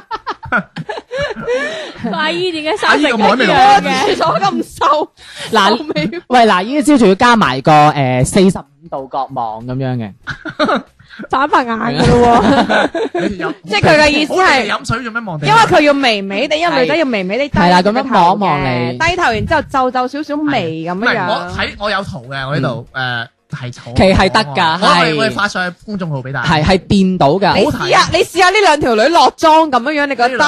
阿姨點解生阿姨成咁個海味樣嘅？ 廁所咁瘦， 嗱臭味喂嗱，呢招仲要加埋個誒四十五度角望咁樣嘅。 反白眼噶咯喎， 你飲即係佢嘅意思係好你哋飲水做咩望地？ 因為佢要微微地，因為女仔要微微地低係啦咁樣個頭望一望嘅你低頭，然之後皺皺少少眉咁唔係我樣樣。 睇我有圖嘅，我呢度誒係圖， 其實係得㗎我係我哋發上去公眾號俾大家。 係係掂到㗎。 你試下，你試下呢兩條女落妝咁樣樣，你覺得？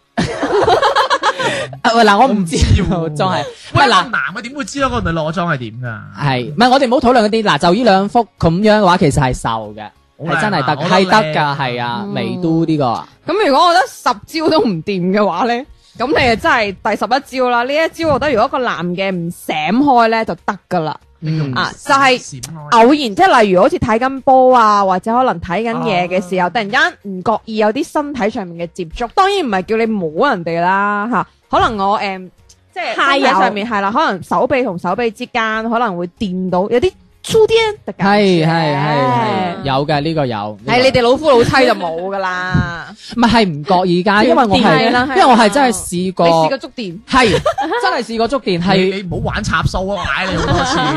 啊喂嗱，我唔知喎喎，真係。 喂嗱， 喂嗱， 男嘅點會知道嗰個女落妝係點㗎？ 係唔係我哋唔好討論嗰啲嗱？就呢兩幅咁樣嘅話，其實係瘦嘅，係真係得，係得㗎，係啊，微嘟呢個。 咁如果我覺得十招都唔掂嘅話咧，咁你就真係第十一招啦。呢一招我覺得如果個男嘅唔醒開咧就得噶啦。 嗯啊，就係閃開偶然，即係例如好似睇緊波啊，或者可能睇緊嘢嘅時候，突然間唔覺意有啲身體上面嘅接觸，當然唔係叫你摸人哋啦嚇，可能我誒即係身體上面係啦，可能手臂同手臂之間可能會掂到有啲粗啲嘅感係覺， 係係係有嘅呢個有。 係你哋老夫老妻就冇噶啦， 唔係係唔覺意㗎，因為我係係啦係啦因為我係真係試過， 你試過觸電？ 係真係試過觸電你係。 你唔好玩插數啊！買你好多次。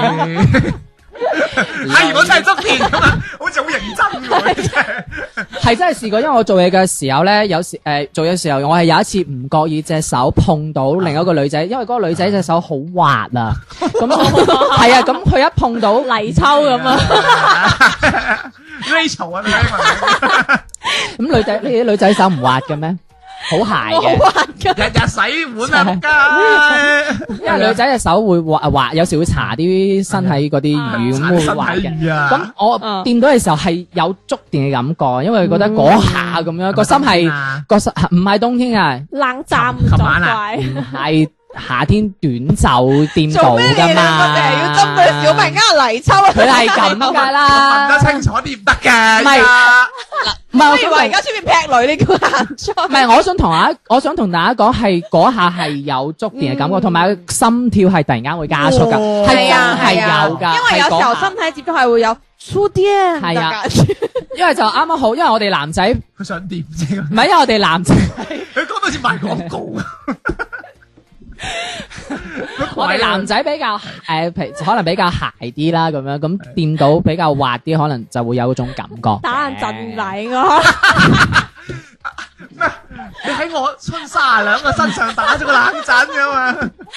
哎，如果真係觸電咁啊，好似好認真喎，真係。 係真係試過，因為我做嘢嘅時候咧，有時誒、呃、做嘢嘅時候，我係有一次唔覺意隻手碰到另一個女仔，因為嗰個女仔隻手好滑啊，咁係啊，咁佢一碰到泥鰍咁啊， Rachel 啊，你睇咁女仔，你啲女仔手唔滑嘅咩？好鞋嘅， 日日洗碗啊，仆街！ 因為女仔隻手會滑滑，有時會搽啲身體嗰啲乳咁會滑嘅。咁咁我掂到嘅時候係有觸電嘅感覺，因為覺得嗰下咁樣個心係個心唔係冬天啊， 冷戰唔琴晚啊作唔係夏天短袖掂到做咩你噶兩個嘛。 淨係要針對小明呃泥鰍啊？ 佢係咁噶啦， 問得清楚啲唔得嘅。 唔係唔係，我想我以為而家出面劈女，你叫行出。 唔係，我想同大家，我想同大家講係嗰下係有觸電嘅感覺，同埋心跳係突然間會加速㗎， 哦係真係啊有㗎。 因為有時候係嗰下身體接觸係會有粗啲係啊，因為就啱啱好，因為我哋男仔唔佢想掂啫， 係，因為我哋男仔， 佢講到好似賣廣告啊！ 我哋男仔比較誒，譬可能比較鞋啲啦，咁樣咁掂到比較滑啲，可能就會有嗰種感覺。 打人陣禮我， 咩？你喺我春卅兩個身上打咗個冷震噶嘛？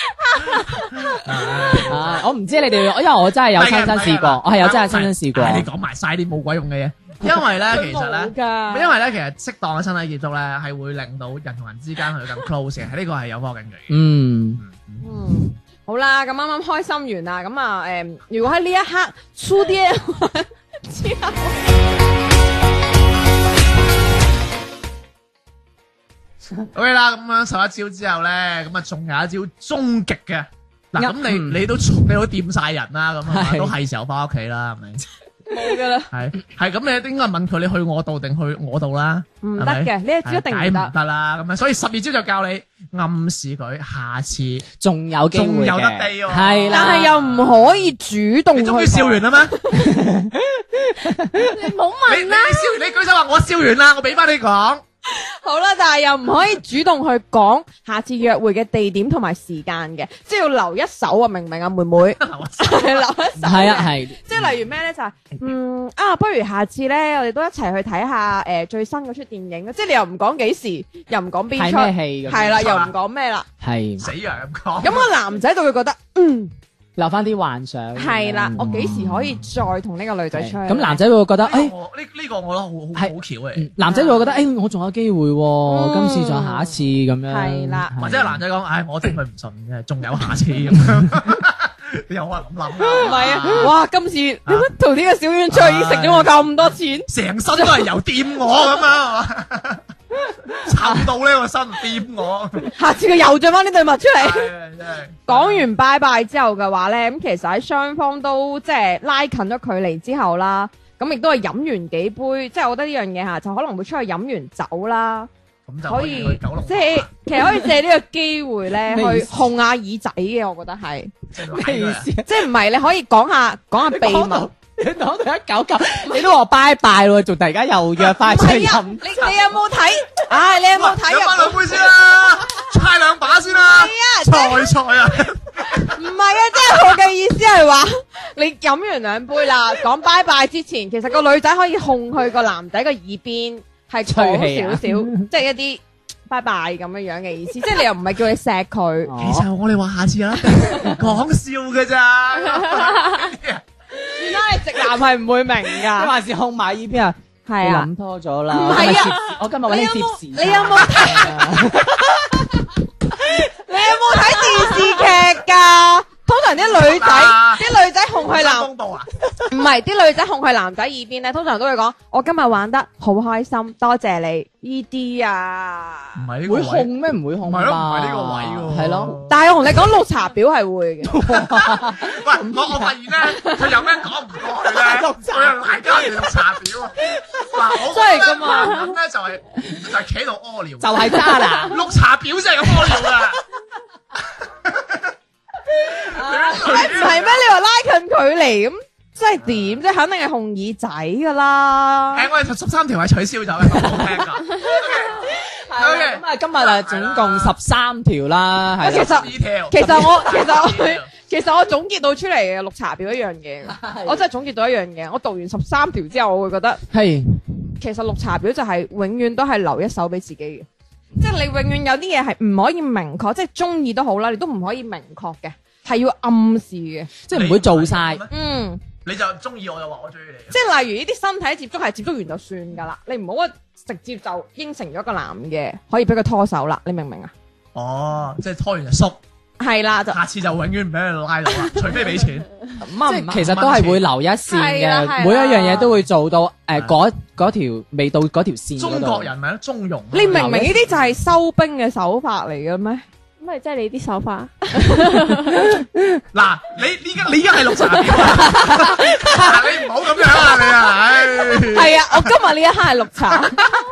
啊，我唔知你哋，因為我真係有親身試過，我係有真係親身試過。 唉你講埋晒啲冇鬼用嘅嘢，因為咧其實咧。 㗎， 因為咧，其實適當嘅身體接觸咧，係會令到人同人之間去更 close 嘅，呢個係有科學根據嘅。 嗯， 嗯，好啦，咁啱啱開心完啦，咁啊，誒，如果喺呢一刻粗啲之後， OK 啦，咁樣十一招之後咧，咁啊仲有一招終極嘅。嗱，咁你嗯你都你都掂晒人啦，咁啊係都係時候翻屋企啦，係咪？ 冇噶啦， 係係咁，你應該問佢你去我度定去我度啦？ 唔得嘅，呢一招一定唔係梗唔得。 得啦，咁啊，所以十二招就教你暗示佢下次。 仲有機會仲有得嘅地喎係啦， 但係又唔可以主動去講。 你終於笑完啦咩？ 你唔好你你問啦， 笑完，你舉手話我笑完啦，我俾翻你講。 好啦，但係又唔可以主動去講下次約會嘅地點同埋時間嘅，即係要留一手啊！明唔明啊，妹妹？係留一手。 係啊係。 即係例如咩咧？就係、嗯啊，不如下次咧，我哋都一齊去睇下誒、呃、最新嗰出電影。即係你又唔講幾時，又唔講邊睇出， 咩戲咁樣係啦，又唔講咩啦。 係死啊咁講。 咁個男仔就會覺得，嗯， 留翻啲幻想。 係啦， 嗯我幾時可以再同呢個女仔出去？ 咁男仔會覺得，誒， 呢個我呢呢個我覺得好好係好巧嘅嗯，男仔會覺得，誒，我仲有機會喎，今次再下一次咁樣。 係啦或者係男仔講，唉，我頂佢唔順嘅，仲有下次咁樣。你有啊諗諗唔係啊！哇，今次點解同呢個小丸菜已經食咗我咁多錢？ 成身都係油掂我咁樣，係嘛？臭到呢個身掂我， 下次佢又着翻呢對襪出嚟。 真係講完拜拜之後嘅話咧，咁其實喺雙方都即係拉近咗距離之後啦，咁亦都係飲完幾杯，即係我覺得呢樣嘢嚇，就可能會出去飲完酒啦， 咁就可以可以去九龍即係其實可以借呢個機會咧咩意思去控下耳仔嘅，我覺得係， 即係拉佢。 即係唔係你可以講下講下秘密。 你講到一九九，你都話拜拜咯，仲突然間又約翻出去係啊， 飲你。你有冇睇？唉，你有冇睇飲翻兩啊？ 杯先啦，猜兩把先啦，菜菜啊！ 唔係啊，即係我嘅意思係話，你飲完兩杯啦，講拜拜之前，其實個女仔可以控佢個男仔個耳邊，係吹氣啊講少少，即係一啲拜拜咁樣樣嘅意思，即係你又唔係叫你錫佢。 哦其實我哋話下次啦，講笑嘅咋。 算啦，你直男係唔會明你㗎。 還是控埋依邊啊？ 係啊， 諗多咗啦。 唔係啊我今日揾你接時。 你有冇你有冇睇電視劇㗎？通常啲女仔， 啊啲女仔控佢男， 風暴啊！ 唔係啲女仔控去男仔耳邊咧，通常都會講：我今日玩得好開心，多謝你。呢啲啊， 唔係呢個位會控咩？唔會控吧？ 唔係咯，唔係呢個位喎。 係咯。 但係我同你講綠茶婊係會嘅。 喂，我我發現咧，佢有咩講唔過去咧，佢又賴交人綠茶婊啊！嗱，我真係㗎嘛咁咧就係就係企喺度屙尿， 就係渣男。 綠茶婊先係咁屙尿啊！ 唔係咩？你話拉近距離咁，即係點？即係肯定係控耳仔㗎啦。 誒，我哋十三條係取消咗嘅，好聽㗎。 係咁啊，今日啊總共十三條啦，係啦。 其實十二條其實我其實我十二條其實我總結到出嚟嘅綠茶婊一樣嘢，我真係總結到一樣嘢。我讀完十三條之後，我會覺得係其實綠茶婊就係永遠都係留一手俾自己嘅，即係你永遠有啲嘢係唔可以明確，即係中意都好啦，你都唔可以明確嘅，係要暗示嘅。 即係唔會做晒。 嗯， 你就中意我就話我中意你。 即係例如呢啲身體接觸係接觸完就算㗎啦，你唔好話直接就應承咗個男嘅可以俾佢拖手啦，你明唔明啊？ 哦，即係拖完就縮， 係啦，就下次就永遠唔俾佢拉到啦，除非俾錢。 咁啊唔係即係其實都係會留一線係啦係啦嘅，每一樣嘢都會做到誒嗰嗰條未到嗰條線嗰度。 中國人咪咯，中庸。 你明唔明呢啲就係收兵嘅手法嚟嘅咩？ 咁咪即係你啲手法。 嗱，你依家你依家係綠茶婊啊！嗱，你唔好咁樣啊，你啊，唉。 係啊，我今日呢一刻係綠茶，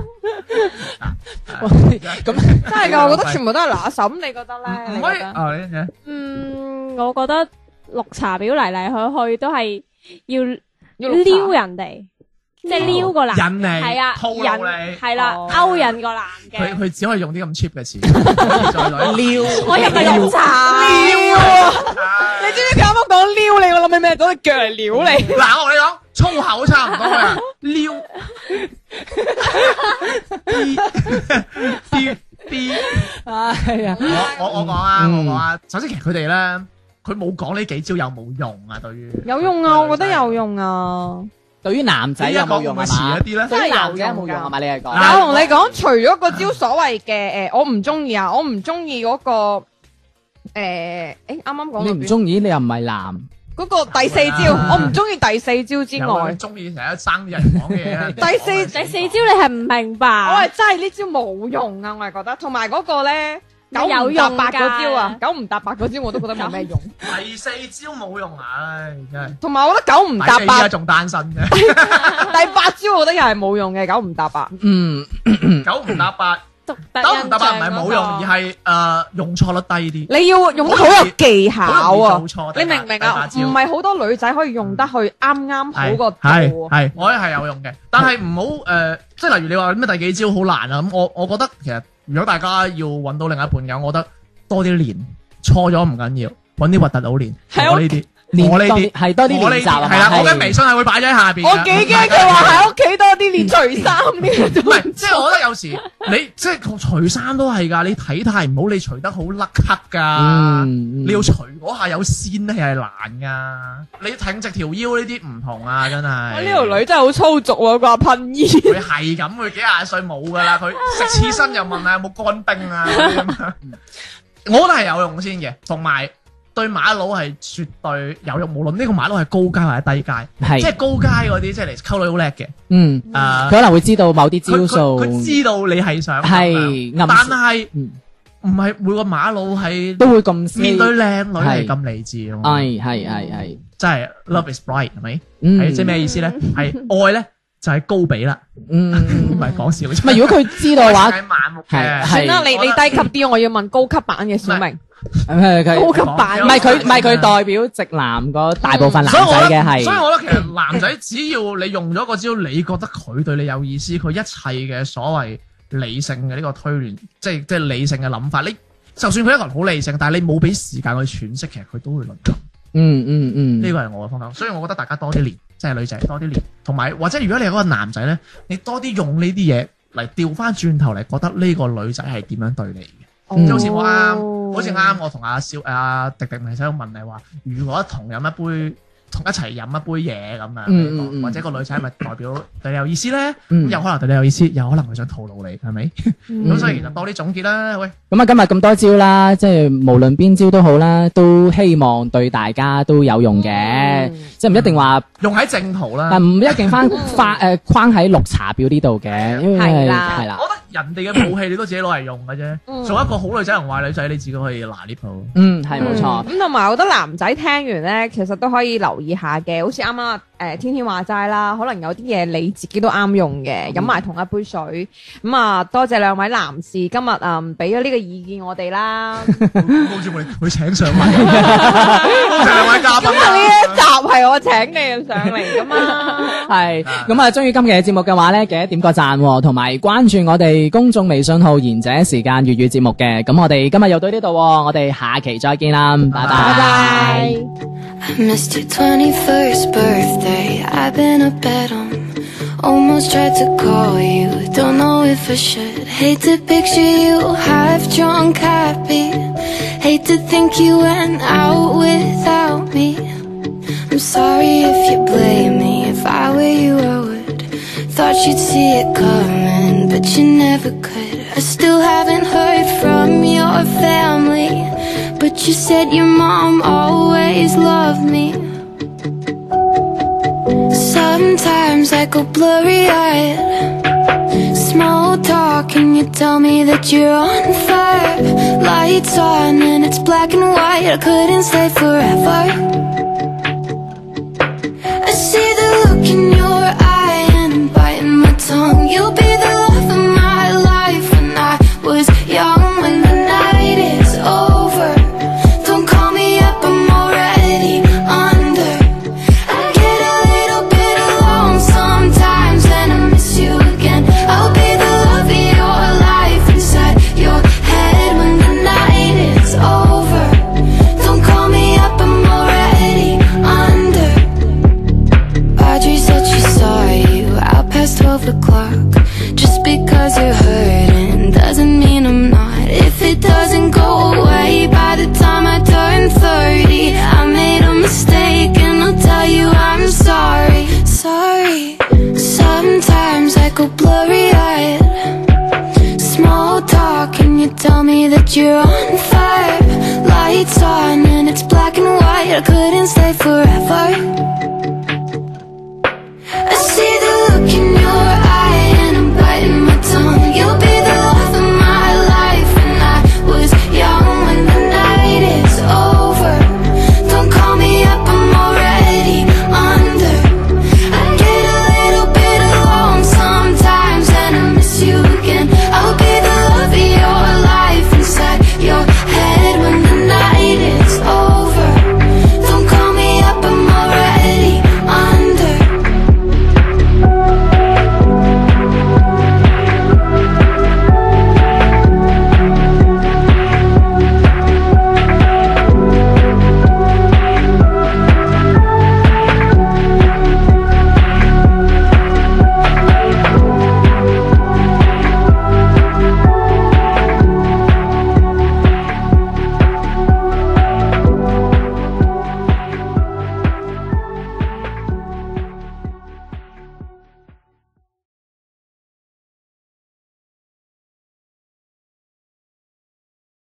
咁真係㗎，我覺得全部都係拿手。咁你覺得咧？ 唔可以你覺得啊！你你嗯，我覺得綠茶婊嚟嚟去去都係要要綠茶撩人哋，即係撩個男， 引你係啊， 套路引你係啦， 哦勾引個男嘅。 佢佢只可以用啲咁 cheap 嘅詞，再來撩。 我又唔係綠茶， 撩啊！你知唔知佢啱啱講撩你？我諗起咩？攞隻腳嚟撩你。 嗱，我同你講粗口差唔多啊，撩。B B， 係啊， 我我我講啊， 嗯我講啊。首先其實佢哋咧，佢冇講呢幾招有冇用啊？對於有用啊，我覺得有用啊。 對於男仔有冇用咪啊嘛？ 遲一啲咧？ 對於男仔有冇用啊嘛？你係講嗱我同你講，除咗個招所謂嘅誒，我唔中意啊，我唔中意嗰個誒，誒啱啱講你到邊唔中意，你又唔係男。 嗰個第四招，我唔中意第四招之有外佢，中意成日生啲人講嘅嘢啊。 第四第四招你係唔明我白係，真係呢招冇用啊！我係覺得，同埋嗰個咧九有唔搭用八嗰招啊， 㗎九唔搭八嗰招我都覺得冇咩用。 第四招冇用，唉，真係。 同埋我覺得九唔搭八， 第四依家仲單身嘅， 第八招我覺得又係冇用嘅，九唔搭八。 嗯， 九唔搭八， 獨特九唔搭八唔係印象嗰個冇用，而係誒用錯率低啲。 你要用得好有技巧好容啊易！做錯你明唔明啊？ 第八招唔係好多女仔可以用得去啱啱好個係度啊。 係，我覺得係有用嘅，但係唔好誒，即係例如你話咩第幾招好難啊咁，我我覺得其實如果大家要揾到另一半嘅，我覺得多啲練，錯咗唔緊要，揾啲核突佬練， 係我呢啲， 練多我呢啲啲係多啲我呢練習啊嘛啲係啦，我嘅係微信係會擺咗喺下邊㗎。 我幾驚佢話喺屋企多啲練除衫呢個唔係，即係我覺得有時你即係除衫都係㗎，你體態唔好，你除得好甩咳㗎。 嗯， 你要除嗰下有線咧係難噶，你挺直條腰呢啲唔同啊，真係。 呢條女真係好粗俗喎，佢話噴煙。 佢係咁，佢幾廿歲冇噶啦，佢食刺身又問下有冇乾冰啊嗰啲咁樣。我覺得係有用先嘅，同埋對馬佬係絕對有用，無論呢個馬佬係高階或者低階，即係係， 高階嗰啲即係嚟溝女好叻嘅。 嗯， 誒， 佢可能會知道某啲招佢佢數， 佢知道你係想咁樣係暗示但係嗯唔係每個馬佬係都會咁面對 sweet 靚女係係咁理智咯。 係係係係， 真係 love is blind 係咪？ 嗯係即係咩意思咧？係愛咧就係高比啦， 嗯， 唔係講笑。 唔係如果佢知道嘅話， 係盲目嘅。 係係算啦，你我覺得你低級啲，我要問高級版嘅小明。 係佢高級版唔係佢唔係佢代表直男嗰大部分男仔所以我覺得， 嘅係， 所以我覺得其實男仔只要你用咗個招，你覺得佢對你有意思，佢一切嘅所謂理性嘅呢個推斷，即係即係理性嘅諗法，你就算佢一個人好理性，但係你冇俾時間去詮釋，其實佢都會淪陷。 嗯嗯嗯， 呢個係我嘅方向，所以我覺得大家多啲練，即係女仔多啲練，同埋或者如果你係嗰個男仔咧，你多啲用呢啲嘢嚟調翻轉頭嚟，覺得呢個女仔係點樣對你嘅。 嗯即係好似我啱，好似啱我同阿少阿迪迪咪喺度問你話，如果同飲一杯同一齊飲一杯嘢咁樣， 嗯嗯嗯或者個女仔係咪代表對你有意思咧？咁、 嗯有可能對你有意思，有可能佢想套路你，係咪？咁、 嗯所以其實多啲總結啦，喂。 咁啊，今日咁多招啦，即係無論邊招都好啦，都希望對大家都有用嘅， 嗯即係唔一定話， 用喺正途啦。 但唔一定翻翻誒框喺綠茶婊呢度嘅，因為係啦係啦我，覺得人哋嘅武器你都自己攞嚟用嘅啫。 嗯做一個好女仔同壞女仔，你自己可以拿呢鋪。 嗯係冇錯， 咁同埋我覺得男仔聽完咧，其實都可以留意下嘅，好似啱啱誒天天話齋啦，可能有啲嘢你自己都啱用嘅，飲埋同一杯水。咁啊，多謝兩位男士今日誒俾咗呢個意見我哋啦。 好似我哋會請上嚟，多謝兩位嘉賓今日呢一集係我請你上嚟噶嘛。 係咁啊，中意今期嘅節目嘅話咧，記得點個讚喎，同埋關注我哋公眾微信號賢者時間粵語節目嘅。咁我哋今日又到呢度喎，我哋下期再見啦，拜拜。 拜拜。 I missed your twenty-first birthday. I've been up at 'em. Almost tried to call you. Don't know if I should. Hate to picture you half drunk, happy. Hate to think you went out without me. I'm sorry if you blame me. If I were you, I would. Thought you'd see it coming, but you never could. I still haven't heard from your family, but you said your mom always loved me. Sometimes I go blurry-eyed. Small talk and you tell me that you're on fire. Lights on and it's black and white. I couldn't stay forever. I see the look in your eye and I'm biting my tongue. You'll be the love of my life when I was young. When the night is over, don't call me up, I'm already under. I get a little bit alone sometimes and I miss you again. I'll be the love of your life inside your head when the night is over. Don't call me up, I'm already under. Audrey said she saw you out past twelve o'clock. Just because you're hurting doesn't mean I'm not. If it doesn't go away by the time I turn thirty, I made a mistake and I'll tell you I'm sorry. Sorry. Sometimes I go blurry-eyed. Small talk and you tell me that you're on fire. Lights on and it's black and white. I couldn't stay forever.